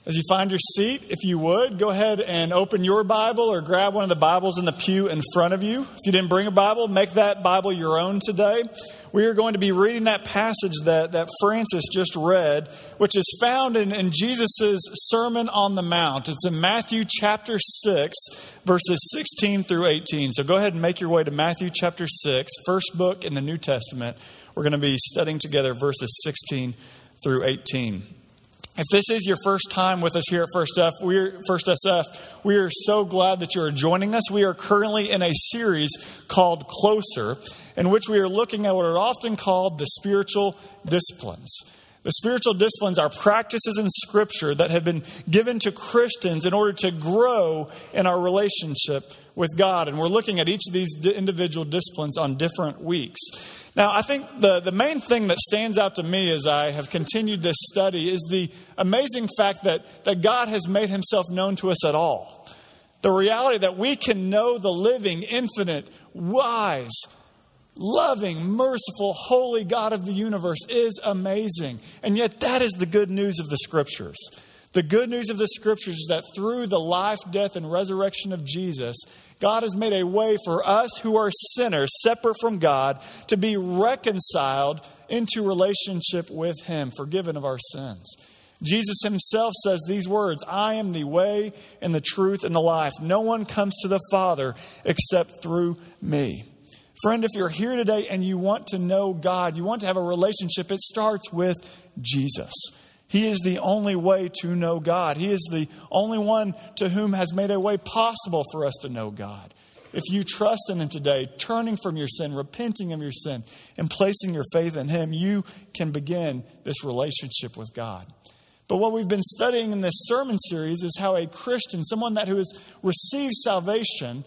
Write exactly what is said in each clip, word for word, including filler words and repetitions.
As you find your seat, if you would, go ahead and open your Bible or grab one of the Bibles in the pew in front of you. If you didn't bring a Bible, make that Bible your own today. We are going to be reading that passage that, that Francis just read, which is found in, in Jesus' Sermon on the Mount. It's in Matthew chapter six, verses sixteen through eighteen. So go ahead and make your way to Matthew chapter six, first book in the New Testament. We're going to be studying together verses sixteen through eighteen. If this is your first time with us here at First F, we're First S F, we are so glad that you are joining us. We are currently in a series called Closer, in which we are looking at what are often called the spiritual disciplines. The spiritual disciplines are practices in Scripture that have been given to Christians in order to grow in our relationship with God. And we're looking at each of these individual disciplines on different weeks. Now, I think the, the main thing that stands out to me as I have continued this study is the amazing fact that, that God has made himself known to us at all. The reality that we can know the living, infinite, wise, loving, merciful, holy God of the universe is amazing. And yet that is the good news of the Scriptures. The good news of the Scriptures is that through the life, death, and resurrection of Jesus, God has made a way for us who are sinners, separate from God, to be reconciled into relationship with him, forgiven of our sins. Jesus himself says these words, "I am the way and the truth and the life. No one comes to the Father except through me." Friend, if you're here today and you want to know God, you want to have a relationship, it starts with Jesus. He is the only way to know God. He is the only one to whom has made a way possible for us to know God. If you trust in him today, turning from your sin, repenting of your sin, and placing your faith in him, you can begin this relationship with God. But what we've been studying in this sermon series is how a Christian, someone that who has received salvation,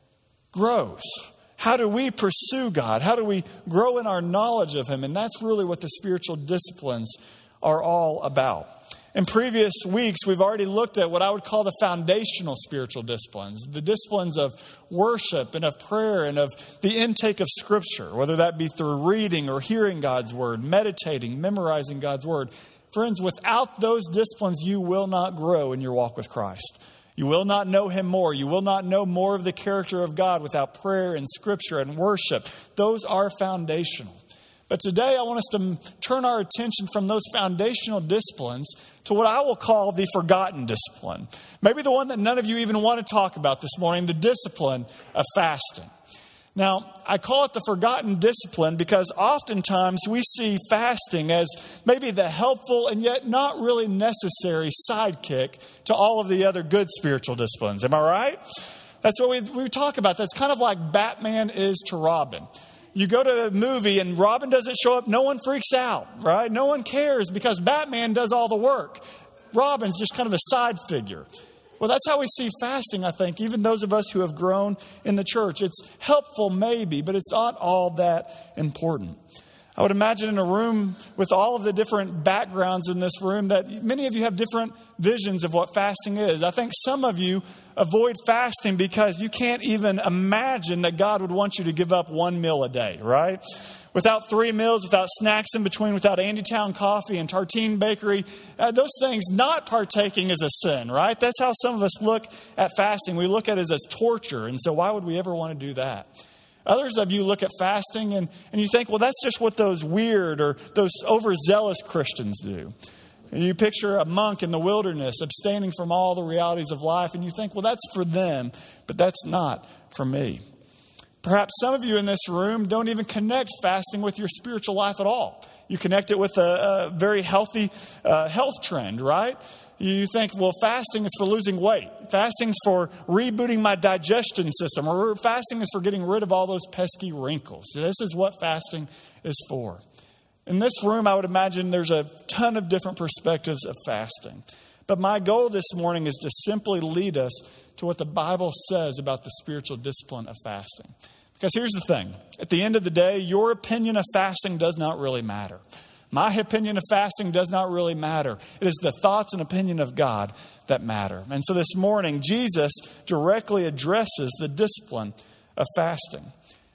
grows. How do we pursue God? How do we grow in our knowledge of him? And that's really what the spiritual disciplines are all about. In previous weeks, we've already looked at what I would call the foundational spiritual disciplines, the disciplines of worship and of prayer and of the intake of Scripture, whether that be through reading or hearing God's Word, meditating, memorizing God's Word. Friends, without those disciplines, you will not grow in your walk with Christ. You will not know him more. You will not know more of the character of God without prayer and Scripture and worship. Those are foundational. But today I want us to turn our attention from those foundational disciplines to what I will call the forgotten discipline. Maybe the one that none of you even want to talk about this morning, the discipline of fasting. Now, I call it the forgotten discipline because oftentimes we see fasting as maybe the helpful and yet not really necessary sidekick to all of the other good spiritual disciplines. Am I right? That's what we, we talk about. That's kind of like Batman is to Robin. You go to a movie and Robin doesn't show up, no one freaks out, right? No one cares because Batman does all the work. Robin's just kind of a side figure. Well, that's how we see fasting, I think, even those of us who have grown in the church. It's helpful maybe, but it's not all that important. I would imagine in a room with all of the different backgrounds in this room that many of you have different visions of what fasting is. I think some of you avoid fasting because you can't even imagine that God would want you to give up one meal a day, right? Without three meals, without snacks in between, without Andytown coffee and Tartine Bakery, uh, those things, not partaking is a sin, right? That's how some of us look at fasting. We look at it as torture, and so why would we ever want to do that? Others of you look at fasting and, and you think, well, that's just what those weird or those overzealous Christians do. And you picture a monk in the wilderness abstaining from all the realities of life, and you think, well, that's for them, but that's not for me. Perhaps some of you in this room don't even connect fasting with your spiritual life at all. You connect it with a, a very healthy uh, health trend, right? You think, well, fasting is for losing weight. Fasting's for rebooting my digestion system. Or fasting is for getting rid of all those pesky wrinkles. This is what fasting is for. In this room, I would imagine there's a ton of different perspectives of fasting. But my goal this morning is to simply lead us to what the Bible says about the spiritual discipline of fasting. Because here's the thing. At the end of the day, your opinion of fasting does not really matter. My opinion of fasting does not really matter. It is the thoughts and opinion of God that matter. And so this morning, Jesus directly addresses the discipline of fasting.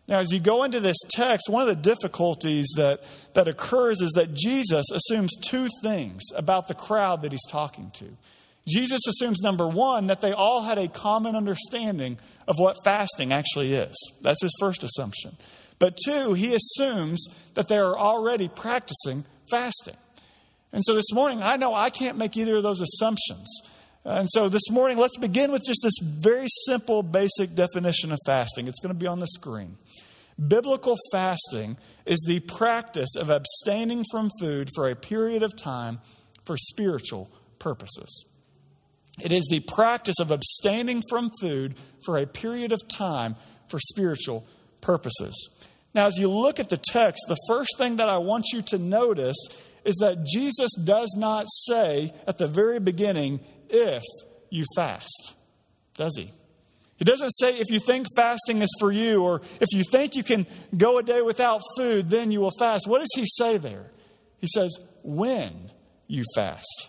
Now, as you go into this text, one of the difficulties that, that occurs is that Jesus assumes two things about the crowd that he's talking to. Jesus assumes, number one, that they all had a common understanding of what fasting actually is. That's his first assumption. But two, he assumes that they are already practicing fasting. And so this morning, I know I can't make either of those assumptions. And so this morning, let's begin with just this very simple, basic definition of fasting. It's going to be on the screen. Biblical fasting is the practice of abstaining from food for a period of time for spiritual purposes. It is the practice of abstaining from food for a period of time for spiritual purposes. Now, as you look at the text, the first thing that I want you to notice is that Jesus does not say at the very beginning, if you fast, does he? He doesn't say if you think fasting is for you, or if you think you can go a day without food, then you will fast. What does he say there? He says, when you fast.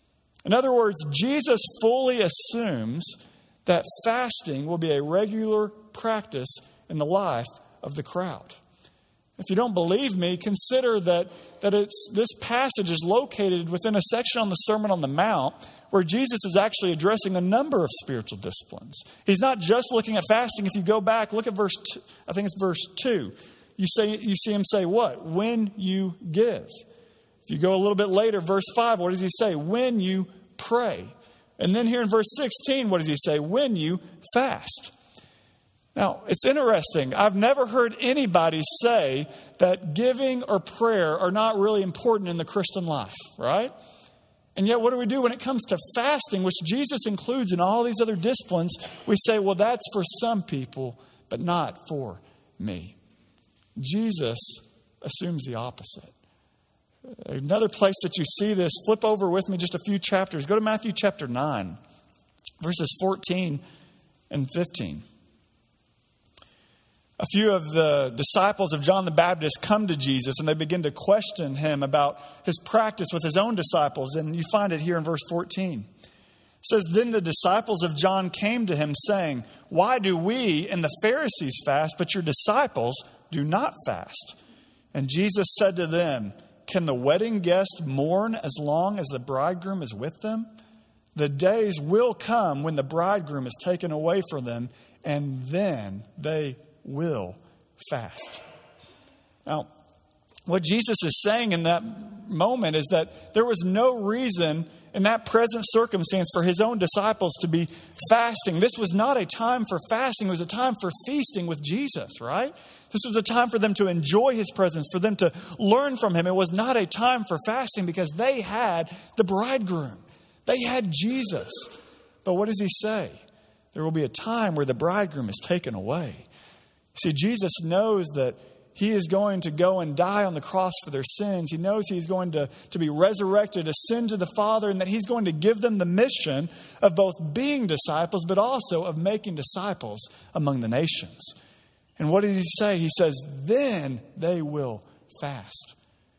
In other words, Jesus fully assumes that fasting will be a regular practice in the life of the crowd. If you don't believe me, consider that, that it's, this passage is located within a section on the Sermon on the Mount where Jesus is actually addressing a number of spiritual disciplines. He's not just looking at fasting. If you go back, look at verse two, I think it's verse two. You say you see him say what? When you give. If you go a little bit later, verse five, what does he say? When you pray. And then here in verse sixteen, what does he say? When you fast. Now, it's interesting. I've never heard anybody say that giving or prayer are not really important in the Christian life, right? And yet, what do we do when it comes to fasting, which Jesus includes in all these other disciplines? We say, well, that's for some people, but not for me. Jesus assumes the opposite. Another place that you see this, flip over with me just a few chapters. Go to Matthew chapter nine, verses fourteen and fifteen. A few of the disciples of John the Baptist come to Jesus and they begin to question him about his practice with his own disciples. And you find it here in verse fourteen. It says, then the disciples of John came to him saying, why do we and the Pharisees fast, but your disciples do not fast? And Jesus said to them, can the wedding guest mourn as long as the bridegroom is with them? The days will come when the bridegroom is taken away from them, and then they will fast. Now, what Jesus is saying in that moment is that there was no reason in that present circumstance for his own disciples to be fasting. This was not a time for fasting. It was a time for feasting with Jesus, right? This was a time for them to enjoy his presence, for them to learn from him. It was not a time for fasting because they had the bridegroom. They had Jesus. But what does he say? There will be a time where the bridegroom is taken away. See, Jesus knows that he is going to go and die on the cross for their sins. He knows he's going to, to be resurrected, ascend to the Father, and that he's going to give them the mission of both being disciples, but also of making disciples among the nations. And what did he say? He says, then they will fast.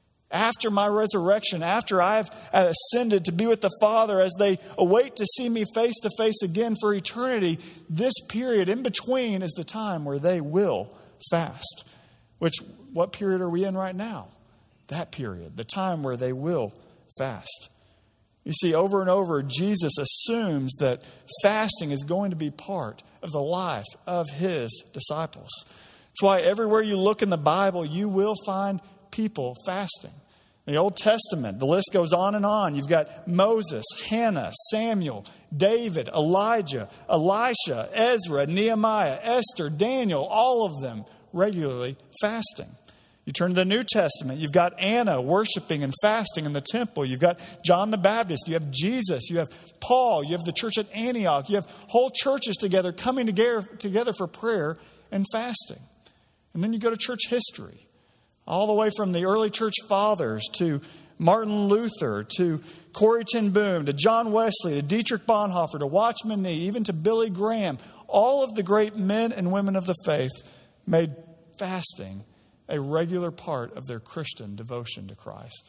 After my resurrection, after I've ascended to be with the Father, as they await to see me face to face again for eternity, this period in between is the time where they will fast. Which, what period are we in right now? That period, the time where they will fast. You see, over and over, Jesus assumes that fasting is going to be part of the life of his disciples. That's why everywhere you look in the Bible, you will find people fasting. In the Old Testament, the list goes on and on. You've got Moses, Hannah, Samuel, David, Elijah, Elisha, Ezra, Nehemiah, Esther, Daniel, all of them regularly fasting. You turn to the New Testament, you've got Anna worshiping and fasting in the temple. You've got John the Baptist. You have Jesus. You have Paul. You have the church at Antioch. You have whole churches together coming together, together for prayer and fasting. And then you go to church history. All the way from the early church fathers to Martin Luther, to Corrie ten Boom, to John Wesley, to Dietrich Bonhoeffer, to Watchman Nee, even to Billy Graham. All of the great men and women of the faith made fasting a regular part of their Christian devotion to Christ.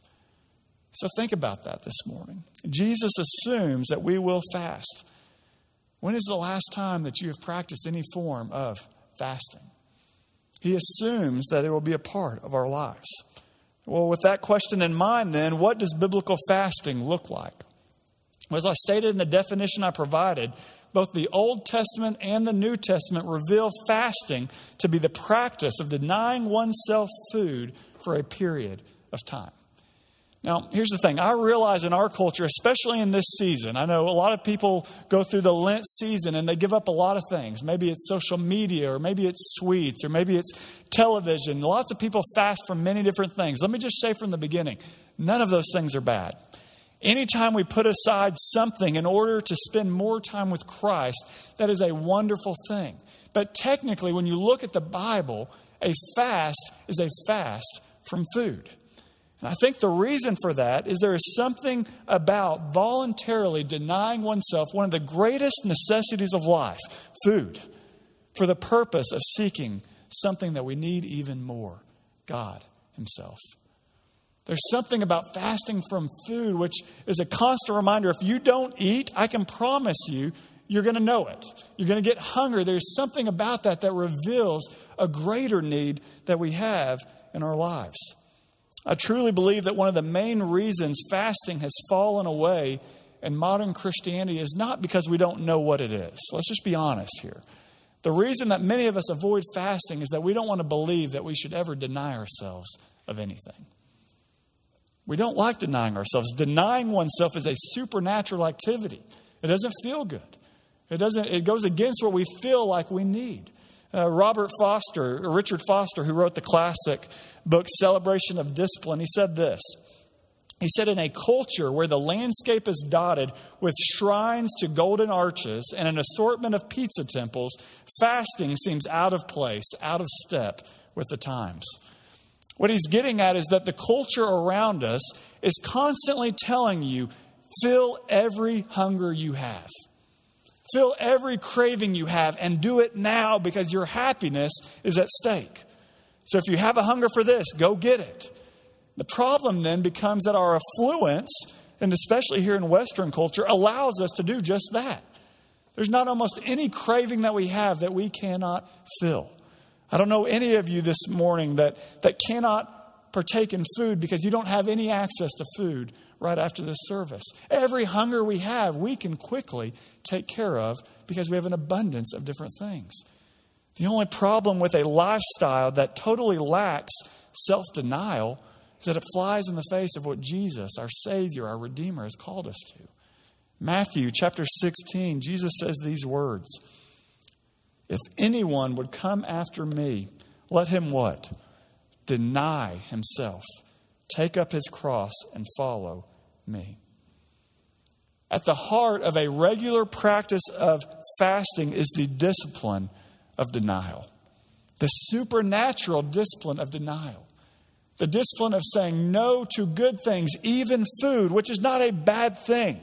So think about that this morning. Jesus assumes that we will fast. When is the last time that you have practiced any form of fasting? He assumes that it will be a part of our lives. Well, with that question in mind, then, what does biblical fasting look like? Well, as I stated in the definition I provided, both the Old Testament and the New Testament reveal fasting to be the practice of denying oneself food for a period of time. Now, here's the thing. I realize in our culture, especially in this season, I know a lot of people go through the Lent season and they give up a lot of things. Maybe it's social media, or maybe it's sweets, or maybe it's television. Lots of people fast from many different things. Let me just say from the beginning, none of those things are bad. Anytime we put aside something in order to spend more time with Christ, that is a wonderful thing. But technically, when you look at the Bible, a fast is a fast from food. And I think the reason for that is there is something about voluntarily denying oneself one of the greatest necessities of life, food, for the purpose of seeking something that we need even more, God Himself. There's something about fasting from food which is a constant reminder. If you don't eat, I can promise you, you're going to know it. You're going to get hungry. There's something about that that reveals a greater need that we have in our lives. I truly believe that one of the main reasons fasting has fallen away in modern Christianity is not because we don't know what it is. Let's just be honest here. The reason that many of us avoid fasting is that we don't want to believe that we should ever deny ourselves of anything. We don't like denying ourselves. Denying oneself is a supernatural activity. It doesn't feel good. It doesn't. It goes against what we feel like we need. Uh, Robert Foster, or Richard Foster, who wrote the classic book Celebration of Discipline, he said this. He said, in a culture where the landscape is dotted with shrines to golden arches and an assortment of pizza temples, fasting seems out of place, out of step with the times. What he's getting at is that the culture around us is constantly telling you, fill every hunger you have. Fill every craving you have and do it now because your happiness is at stake. So if you have a hunger for this, go get it. The problem then becomes that our affluence, and especially here in Western culture, allows us to do just that. There's not almost any craving that we have that we cannot fill. I don't know any of you this morning that, that cannot partake in food because you don't have any access to food right after this service. Every hunger we have, we can quickly take care of because we have an abundance of different things. The only problem with a lifestyle that totally lacks self-denial is that it flies in the face of what Jesus, our Savior, our Redeemer, has called us to. Matthew chapter sixteen, Jesus says these words, if anyone would come after me, let him what? Deny himself, take up his cross and follow me. At the heart of a regular practice of fasting is the discipline of denial. The supernatural discipline of denial. The discipline of saying no to good things, even food, which is not a bad thing.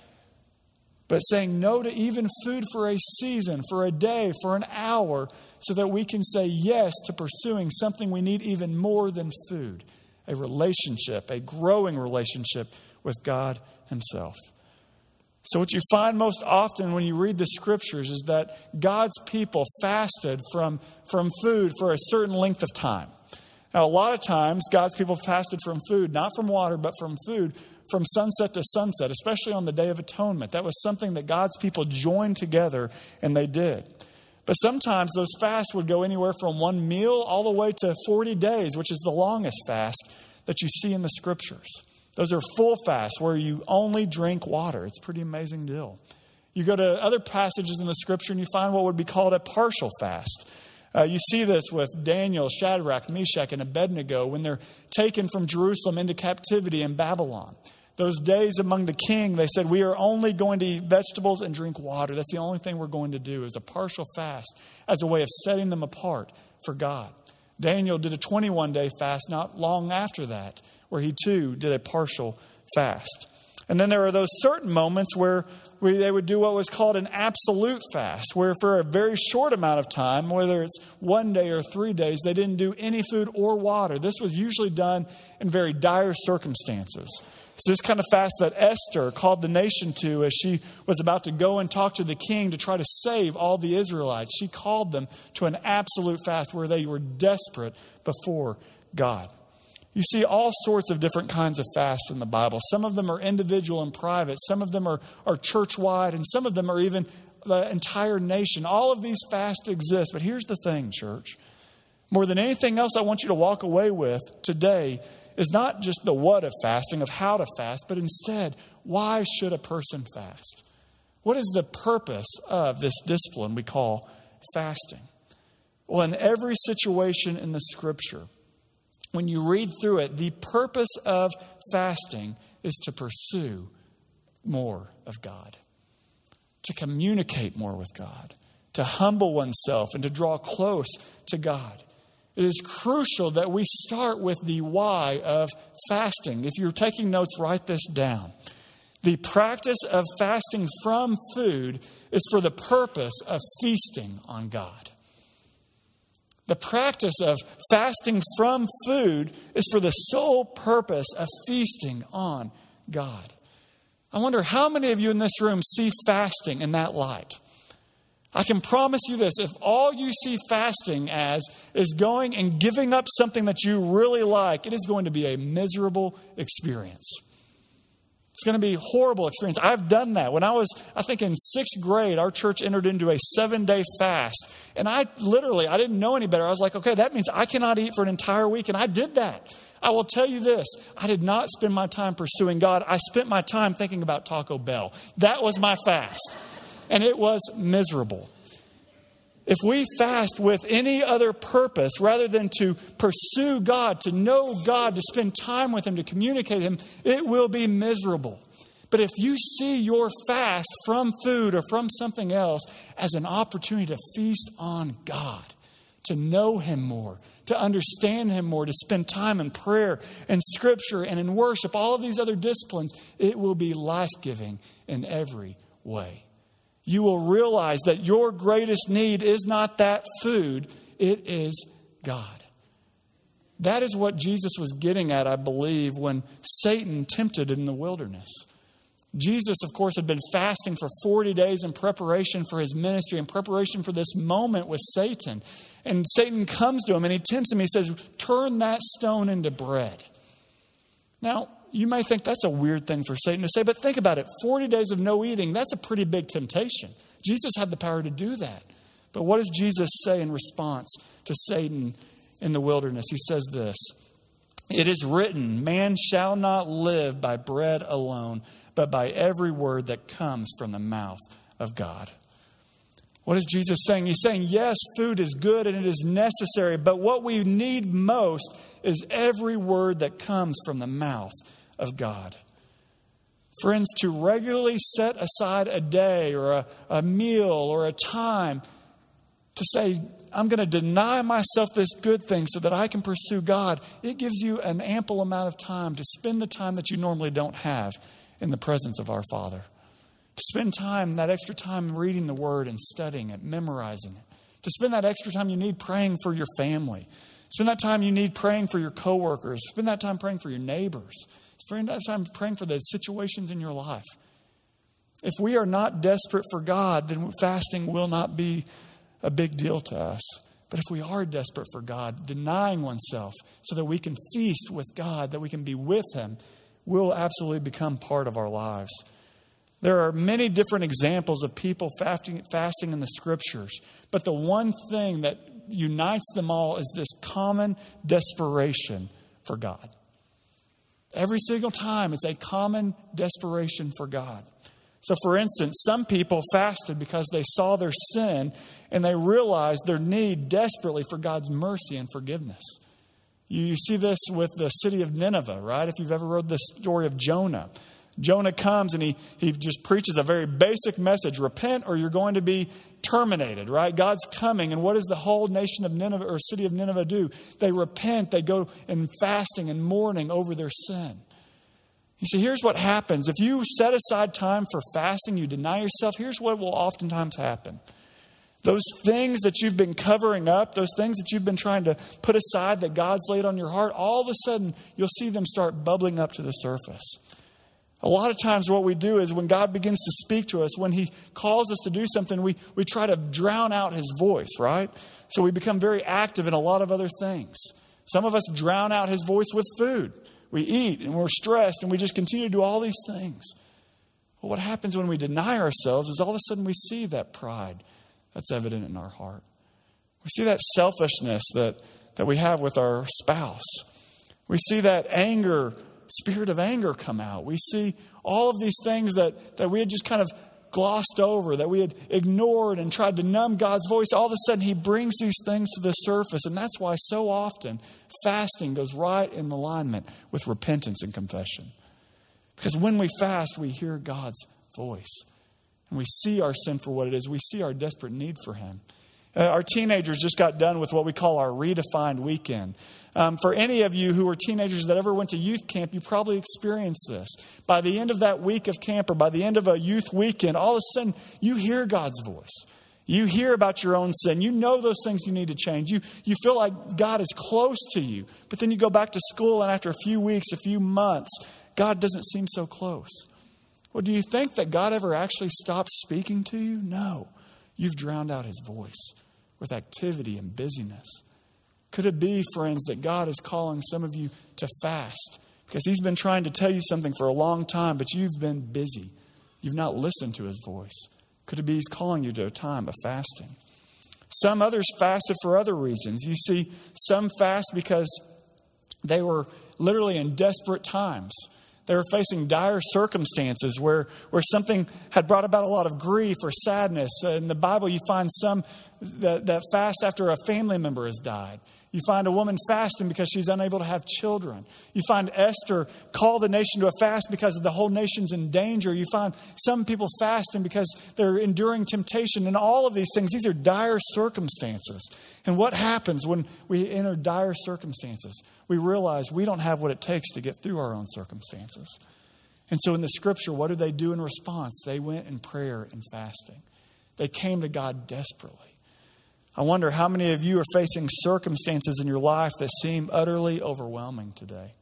But saying no to even food for a season, for a day, for an hour, so that we can say yes to pursuing something we need even more than food. A relationship, a growing relationship with God Himself. So what you find most often when you read the Scriptures is that God's people fasted from, from food for a certain length of time. Now, a lot of times, God's people fasted from food, not from water, but from food, from sunset to sunset, especially on the Day of Atonement. That was something that God's people joined together, and they did. But sometimes those fasts would go anywhere from one meal all the way to forty days, which is the longest fast that you see in the Scriptures. Those are full fasts where you only drink water. It's a pretty amazing deal. You go to other passages in the Scripture and you find what would be called a partial fast. Uh, you see this with Daniel, Shadrach, Meshach, and Abednego when they're taken from Jerusalem into captivity in Babylon. Those days among the king, they said, we are only going to eat vegetables and drink water. That's the only thing we're going to do is a partial fast as a way of setting them apart for God. Daniel did a twenty-one day fast not long after that, where he too did a partial fast. And then there are those certain moments where, where they would do what was called an absolute fast, where for a very short amount of time, whether it's one day or three days, they didn't do any food or water. This was usually done in very dire circumstances. It's this kind of fast that Esther called the nation to as she was about to go and talk to the king to try to save all the Israelites. She called them to an absolute fast where they were desperate before God. You see all sorts of different kinds of fasts in the Bible. Some of them are individual and private. Some of them are, are church-wide. And some of them are even the entire nation. All of these fasts exist. But here's the thing, church. More than anything else I want you to walk away with today is not just the what of fasting, of how to fast, but instead, why should a person fast? What is the purpose of this discipline we call fasting? Well, in every situation in the Scripture, when you read through it, the purpose of fasting is to pursue more of God, to communicate more with God, to humble oneself and to draw close to God. It is crucial that we start with the why of fasting. If you're taking notes, write this down. The practice of fasting from food is for the purpose of feasting on God. The practice of fasting from food is for the sole purpose of feasting on God. I wonder how many of you in this room see fasting in that light. I can promise you this, if all you see fasting as is going and giving up something that you really like, it is going to be a miserable experience. It's going to be a horrible experience. I've done that. When I was, I think in sixth grade, our church entered into a seven-day fast. And I literally, I didn't know any better. I was like, okay, that means I cannot eat for an entire week. And I did that. I will tell you this, I did not spend my time pursuing God. I spent my time thinking about Taco Bell. That was my fast. And it was miserable. If we fast with any other purpose rather than to pursue God, to know God, to spend time with Him, to communicate Him, it will be miserable. But if you see your fast from food or from something else as an opportunity to feast on God, to know Him more, to understand Him more, to spend time in prayer and Scripture and in worship, all of these other disciplines, it will be life-giving in every way. You will realize that your greatest need is not that food, it is God. That is what Jesus was getting at, I believe, when Satan tempted in the wilderness. Jesus, of course, had been fasting for forty days in preparation for His ministry, in preparation for this moment with Satan. And Satan comes to him and he tempts him. He says, turn that stone into bread. Now, you may think that's a weird thing for Satan to say, but think about it. forty days of no eating, that's a pretty big temptation. Jesus had the power to do that. But what does Jesus say in response to Satan in the wilderness? He says this, it is written, man shall not live by bread alone, but by every word that comes from the mouth of God. What is Jesus saying? He's saying, yes, food is good and it is necessary, but what we need most is every word that comes from the mouth of God. Friends, to regularly set aside a day or a, a meal or a time to say, I'm going to deny myself this good thing so that I can pursue God, it gives you an ample amount of time to spend the time that you normally don't have in the presence of our Father. To spend time, that extra time reading the Word and studying it, memorizing it. To spend that extra time you need praying for your family. Spend that time you need praying for your coworkers. Spend that time praying for your neighbors. Spend that time praying for the situations in your life. If we are not desperate for God, then fasting will not be a big deal to us. But if we are desperate for God, denying oneself so that we can feast with God, that we can be with Him, will absolutely become part of our lives. There are many different examples of people fasting, fasting in the Scriptures. But the one thing that unites them all is this common desperation for God. Every single time, it's a common desperation for God. So, for instance, some people fasted because they saw their sin and they realized their need desperately for God's mercy and forgiveness. You, you see this with the city of Nineveh, right? If you've ever read the story of Jonah. Jonah comes and he, he just preaches a very basic message. Repent or you're going to be terminated, right? God's coming. And what does the whole nation of Nineveh or city of Nineveh do? They repent. They go in fasting and mourning over their sin. You see, here's what happens. If you set aside time for fasting, you deny yourself, here's what will oftentimes happen. Those things that you've been covering up, those things that you've been trying to put aside that God's laid on your heart, all of a sudden you'll see them start bubbling up to the surface. A lot of times what we do is when God begins to speak to us, when he calls us to do something, we, we try to drown out his voice, right? So we become very active in a lot of other things. Some of us drown out his voice with food. We eat and we're stressed and we just continue to do all these things. Well, what happens when we deny ourselves is all of a sudden we see that pride that's evident in our heart. We see that selfishness that, that we have with our spouse. We see that anger, spirit of anger come out. We see all of these things that, that we had just kind of glossed over, that we had ignored and tried to numb God's voice. All of a sudden, he brings these things to the surface. And that's why so often fasting goes right in alignment with repentance and confession. Because when we fast, we hear God's voice. And we see our sin for what it is. We see our desperate need for him. Uh, our teenagers just got done with what we call our redefined weekend. Um, for any of you who were teenagers that ever went to youth camp, you probably experienced this. By the end of that week of camp or by the end of a youth weekend, all of a sudden you hear God's voice. You hear about your own sin. You know those things you need to change. You, you feel like God is close to you. But then you go back to school and after a few weeks, a few months, God doesn't seem so close. Well, do you think that God ever actually stopped speaking to you? No. You've drowned out his voice with activity and busyness. Could it be, friends, that God is calling some of you to fast because he's been trying to tell you something for a long time, but you've been busy. You've not listened to his voice. Could it be he's calling you to a time of fasting? Some others fasted for other reasons. You see, some fast because they were literally in desperate times. They were facing dire circumstances where, where something had brought about a lot of grief or sadness. In the Bible, you find some that, that fast after a family member has died. You find a woman fasting because she's unable to have children. You find Esther call the nation to a fast because the whole nation's in danger. You find some people fasting because they're enduring temptation. And all of these things, these are dire circumstances. And what happens when we enter dire circumstances? We realize we don't have what it takes to get through our own circumstances. And so in the scripture, what do they do in response? They went in prayer and fasting. They came to God desperately. I wonder how many of you are facing circumstances in your life that seem utterly overwhelming today.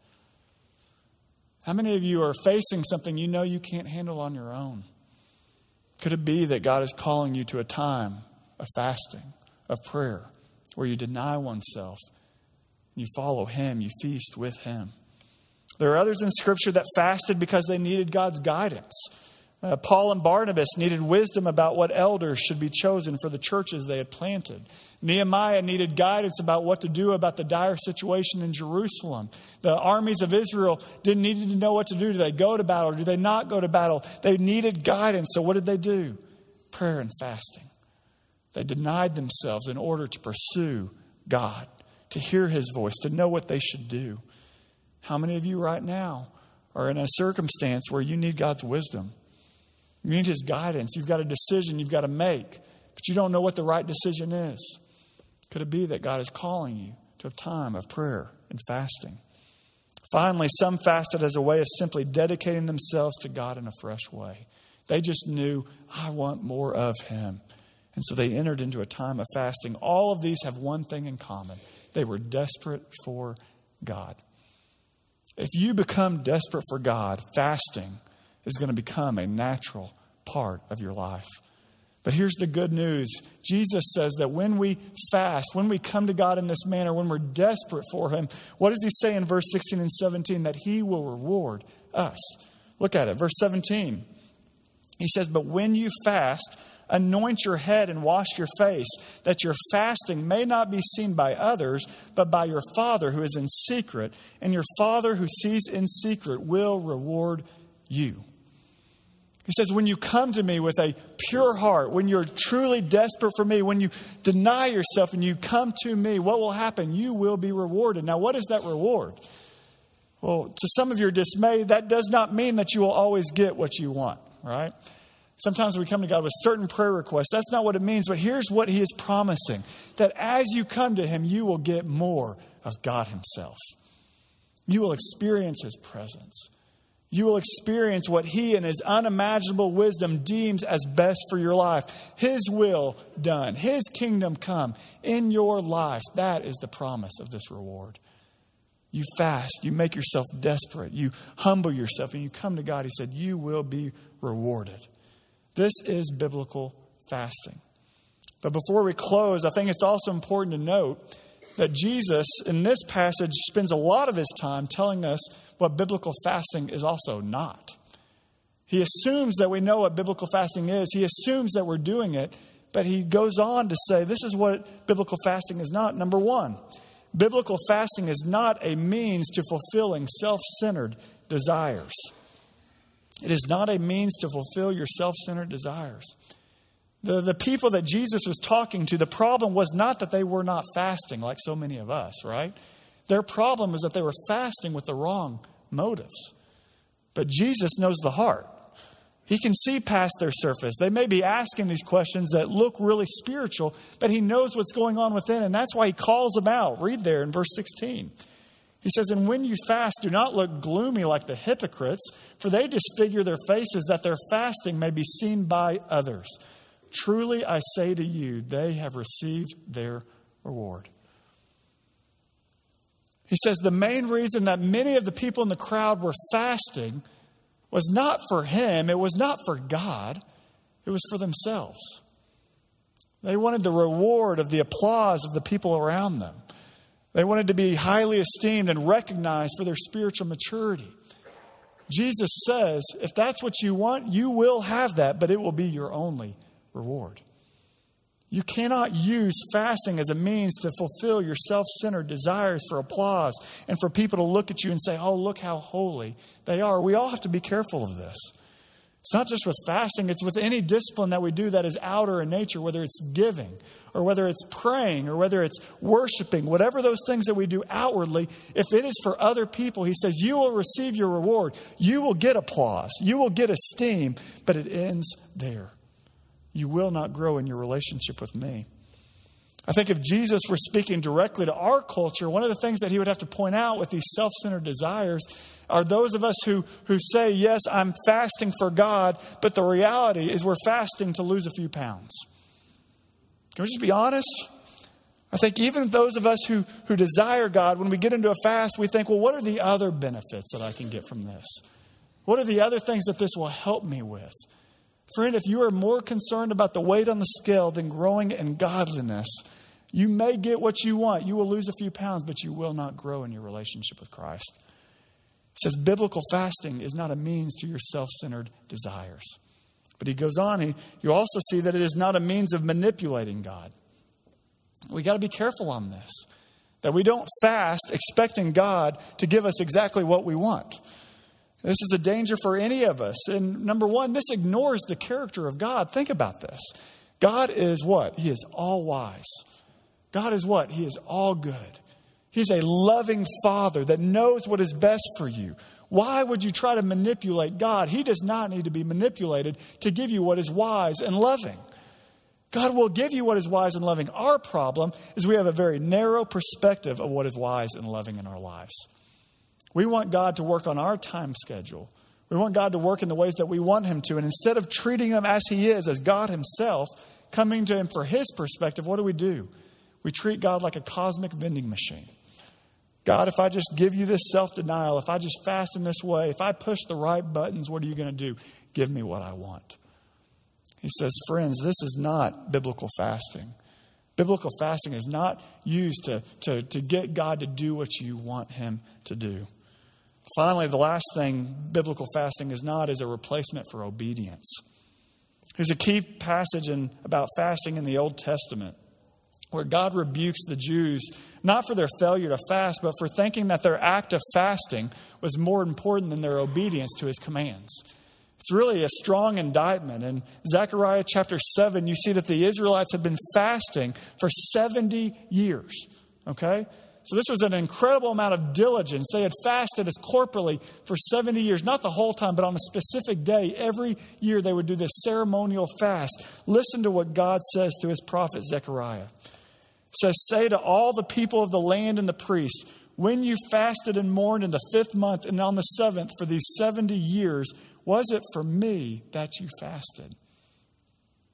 How many of you are facing something you know you can't handle on your own? Could it be that God is calling you to a time of fasting, of prayer, where you deny oneself, you follow him, you feast with him? There are others in Scripture that fasted because they needed God's guidance. Uh, Paul and Barnabas needed wisdom about what elders should be chosen for the churches they had planted. Nehemiah needed guidance about what to do about the dire situation in Jerusalem. The armies of Israel didn't need to know what to do. Do they go to battle or do they not go to battle? They needed guidance. So what did they do? Prayer and fasting. They denied themselves in order to pursue God, to hear his voice, to know what they should do. How many of you right now are in a circumstance where you need God's wisdom? You need his guidance. You've got a decision you've got to make, but you don't know what the right decision is. Could it be that God is calling you to a time of prayer and fasting? Finally, some fasted as a way of simply dedicating themselves to God in a fresh way. They just knew, I want more of him. And so they entered into a time of fasting. All of these have one thing in common. They were desperate for God. If you become desperate for God, fasting is going to become a natural part of your life. But here's the good news. Jesus says that when we fast, when we come to God in this manner, when we're desperate for him, what does he say in verse sixteen and seventeen? That he will reward us. Look at it. Verse seventeen. He says, but when you fast, anoint your head and wash your face, that your fasting may not be seen by others, but by your Father who is in secret. And your Father who sees in secret will reward you. He says, when you come to me with a pure heart, when you're truly desperate for me, when you deny yourself and you come to me, what will happen? You will be rewarded. Now, what is that reward? Well, to some of your dismay, that does not mean that you will always get what you want, right? Sometimes we come to God with certain prayer requests. That's not what it means, but here's what he is promising. That as you come to him, you will get more of God himself. You will experience his presence. You will experience what he in his unimaginable wisdom deems as best for your life. His will done. His kingdom come in your life. That is the promise of this reward. You fast, you make yourself desperate, you humble yourself, and you come to God. He said, you will be rewarded. This is biblical fasting. But before we close, I think it's also important to note that Jesus, in this passage, spends a lot of his time telling us what biblical fasting is also not. He assumes that we know what biblical fasting is. He assumes that we're doing it. But he goes on to say, this is what biblical fasting is not. Number one, biblical fasting is not a means to fulfilling self-centered desires. It is not a means to fulfill your self-centered desires. The, the people that Jesus was talking to, the problem was not that they were not fasting like so many of us, right? Their problem was that they were fasting with the wrong motives. But Jesus knows the heart. He can see past their surface. They may be asking these questions that look really spiritual, but he knows what's going on within, and that's why he calls them out. Read there in verse sixteen. He says, and when you fast, do not look gloomy like the hypocrites, for they disfigure their faces that their fasting may be seen by others. Truly, I say to you, they have received their reward. He says the main reason that many of the people in the crowd were fasting was not for him. It was not for God. It was for themselves. They wanted the reward of the applause of the people around them. They wanted to be highly esteemed and recognized for their spiritual maturity. Jesus says, if that's what you want, you will have that, but it will be your only reward. You cannot use fasting as a means to fulfill your self-centered desires for applause and for people to look at you and say, oh, look how holy they are. We all have to be careful of this. It's not just with fasting, it's with any discipline that we do that is outer in nature, whether it's giving or whether it's praying or whether it's worshiping, whatever those things that we do outwardly, if it is for other people, he says, you will receive your reward. You will get applause. You will get esteem, but it ends there. You will not grow in your relationship with me. I think if Jesus were speaking directly to our culture, one of the things that he would have to point out with these self-centered desires are those of us who, who say, yes, I'm fasting for God, but the reality is we're fasting to lose a few pounds. Can we just be honest? I think even those of us who, who desire God, when we get into a fast, we think, well, what are the other benefits that I can get from this? What are the other things that this will help me with? Friend, if you are more concerned about the weight on the scale than growing in godliness, you may get what you want. You will lose a few pounds, but you will not grow in your relationship with Christ. It says biblical fasting is not a means to your self-centered desires. But he goes on, he, you also see that it is not a means of manipulating God. We got to be careful on this, that we don't fast expecting God to give us exactly what we want. This is a danger for any of us. And number one, this ignores the character of God. Think about this. God is what? He is all wise. God is what? He is all good. He's a loving Father that knows what is best for you. Why would you try to manipulate God? He does not need to be manipulated to give you what is wise and loving. God will give you what is wise and loving. Our problem is we have a very narrow perspective of what is wise and loving in our lives. We want God to work on our time schedule. We want God to work in the ways that we want him to. And instead of treating him as he is, as God himself, coming to him for his perspective, what do we do? We treat God like a cosmic vending machine. God, if I just give you this self-denial, if I just fast in this way, if I push the right buttons, what are you going to do? Give me what I want. He says, friends, this is not biblical fasting. Biblical fasting is not used to, to, to get God to do what you want him to do. Finally, the last thing biblical fasting is not is a replacement for obedience. There's a key passage in, about fasting in the Old Testament where God rebukes the Jews, not for their failure to fast, but for thinking that their act of fasting was more important than their obedience to his commands. It's really a strong indictment. In Zechariah chapter seven, you see that the Israelites had been fasting for seventy years. Okay? So this was an incredible amount of diligence. They had fasted as corporately for seventy years, not the whole time, but on a specific day. Every year they would do this ceremonial fast. Listen to what God says to his prophet Zechariah. It says, say to all the people of the land and the priests, when you fasted and mourned in the fifth month and on the seventh for these seventy years, was it for me that you fasted?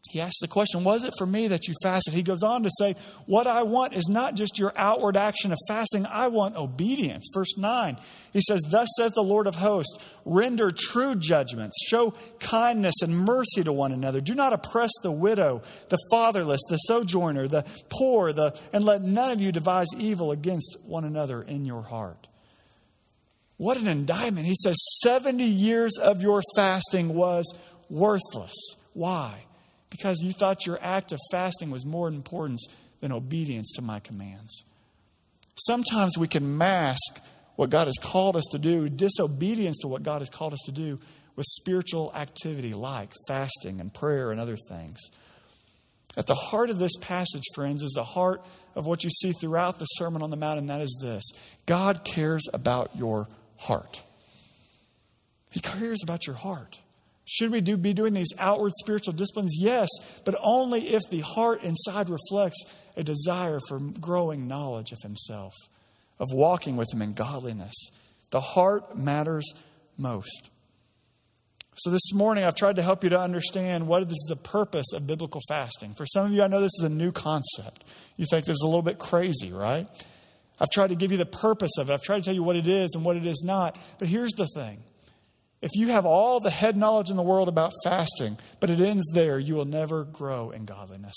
He asks the question, was it for me that you fasted? He goes on to say, what I want is not just your outward action of fasting. I want obedience. Verse nine, he says, thus says the Lord of hosts, render true judgments, show kindness and mercy to one another. Do not oppress the widow, the fatherless, the sojourner, the poor, the, and let none of you devise evil against one another in your heart. What an indictment. He says seventy years of your fasting was worthless. Why? Because you thought your act of fasting was more important than obedience to my commands. Sometimes we can mask what God has called us to do, disobedience to what God has called us to do, with spiritual activity like fasting and prayer and other things. At the heart of this passage, friends, is the heart of what you see throughout the Sermon on the Mount, and that is this. God cares about your heart. He cares about your heart. Should we do, be doing these outward spiritual disciplines? Yes, but only if the heart inside reflects a desire for growing knowledge of Himself, of walking with Him in godliness. The heart matters most. So this morning, I've tried to help you to understand what is the purpose of biblical fasting. For some of you, I know this is a new concept. You think this is a little bit crazy, right? I've tried to give you the purpose of it. I've tried to tell you what it is and what it is not. But here's the thing. If you have all the head knowledge in the world about fasting, but it ends there, you will never grow in godliness.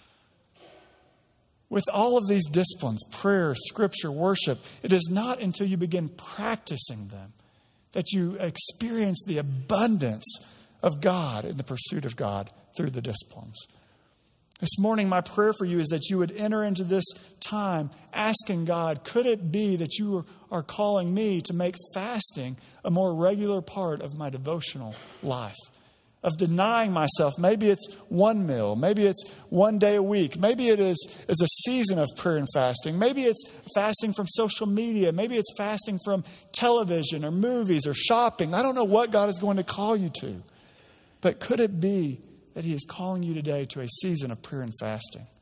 With all of these disciplines, prayer, scripture, worship, it is not until you begin practicing them that you experience the abundance of God in the pursuit of God through the disciplines. This morning, my prayer for you is that you would enter into this time asking God, could it be that you are calling me to make fasting a more regular part of my devotional life? Of denying myself. Maybe it's one meal. Maybe it's one day a week. Maybe it is, is a season of prayer and fasting. Maybe it's fasting from social media. Maybe it's fasting from television or movies or shopping. I don't know what God is going to call you to. But could it be that He is calling you today to a season of prayer and fasting?